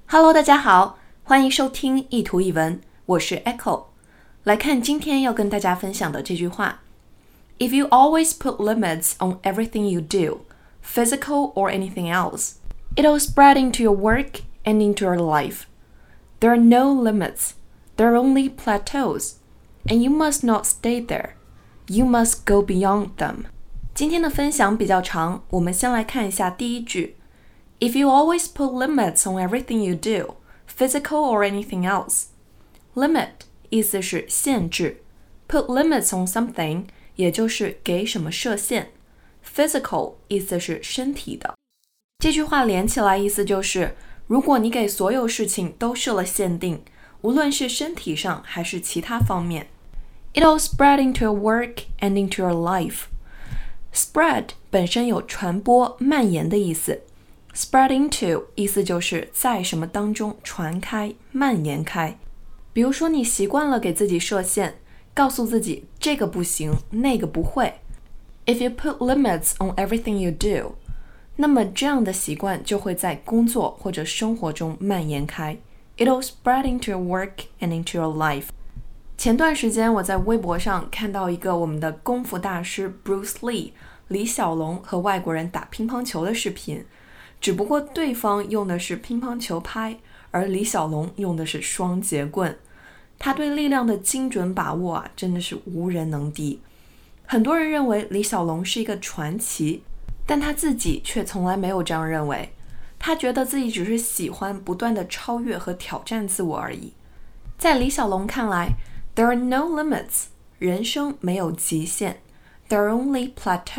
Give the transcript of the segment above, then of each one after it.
Hello， 大家好，欢迎收听一图一文，我是 Echo。来看今天要跟大家分享的这句话 ：If you always put limits on everything you do, physical or anything else, it'll spread into your work and into your life. There are no limits, there are only plateaus, and you must not stay there. You must go beyond them. 今天的分享比较长，我们先来看一下第一句。If you always put limits on everything you do, physical or anything else. Limit 意思是限制 ，put limits on something 也就是给什么设限。Physical 意思是身体的。这句话连起来意思就是，如果你给所有事情都设了限定，无论是身体上还是其他方面 ，it'll spread into your work and into your life. Spread 本身有传播、蔓延的意思。Spread into 意思就是在什么当中传开、蔓延开。比如说你习惯了给自己设限，告诉自己这个不行，那个不会。If you put limits on everything you do, 那么这样的习惯就会在工作或者生活中蔓延开。It'll spread into your work and into your life. 前段时间我在微博上看到一个我们的功夫大师 Bruce Lee 李小龙和外国人打乒乓球的视频。只不过对方用的是乒乓球拍，而李小龙用的是双节棍。他对力量的精准把握啊，真的是无人能敌。很多人认为李小龙是一个传奇，但他自己却从来没有这样认为。他觉得自己只是喜欢不断的超越和挑战自我而已。在李小龙看来 ，There are no limits， 人生没有极限 ，There are only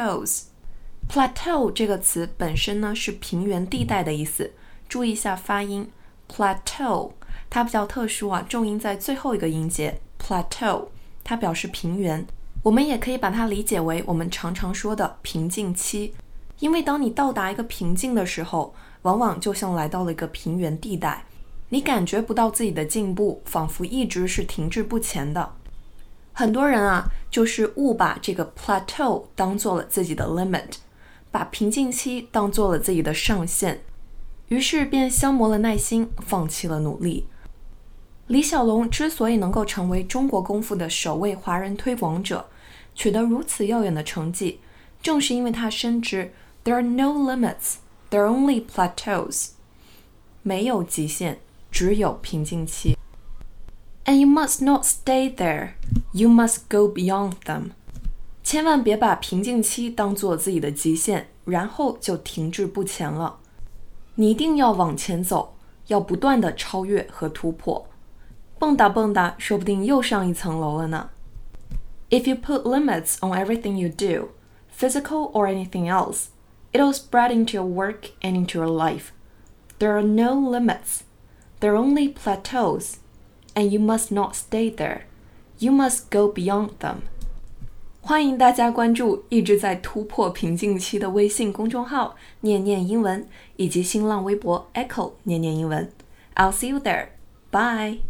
plateaus。Plateau 这个词本身呢是平原地带的意思，注意一下发音 Plateau 它比较特殊啊，重音在最后一个音节 Plateau 它表示平原，我们也可以把它理解为我们常常说的瓶颈期，因为当你到达一个瓶颈的时候，往往就像来到了一个平原地带，你感觉不到自己的进步，仿佛一直是停滞不前的。很多人啊就是误把这个 Plateau 当做了自己的 limit，把瓶颈期当做了自己的上限，于是便消磨了耐心，放弃了努力。李小龙之所以能够成为中国功夫的首位华人推广者，取得如此耀眼的成绩，正是因为他深知 There are no limits, there are only plateaus. 没有极限，只有瓶颈期。And you must not stay there, you must go beyond them.千万别把瓶颈期当作自己的极限，然后就停滞不前了。你一定要往前走，要不断的超越和突破。蹦跶蹦跶，说不定又上一层楼了呢。If you put limits on everything you do, physical or anything else, it'll spread into your work and into your life. There are no limits. There are only plateaus. And you must not stay there. You must go beyond them.欢迎大家关注一直在突破瓶颈期的微信公众号念念英文，以及新浪微博 Echo 念念英文。I'll see you there. Bye.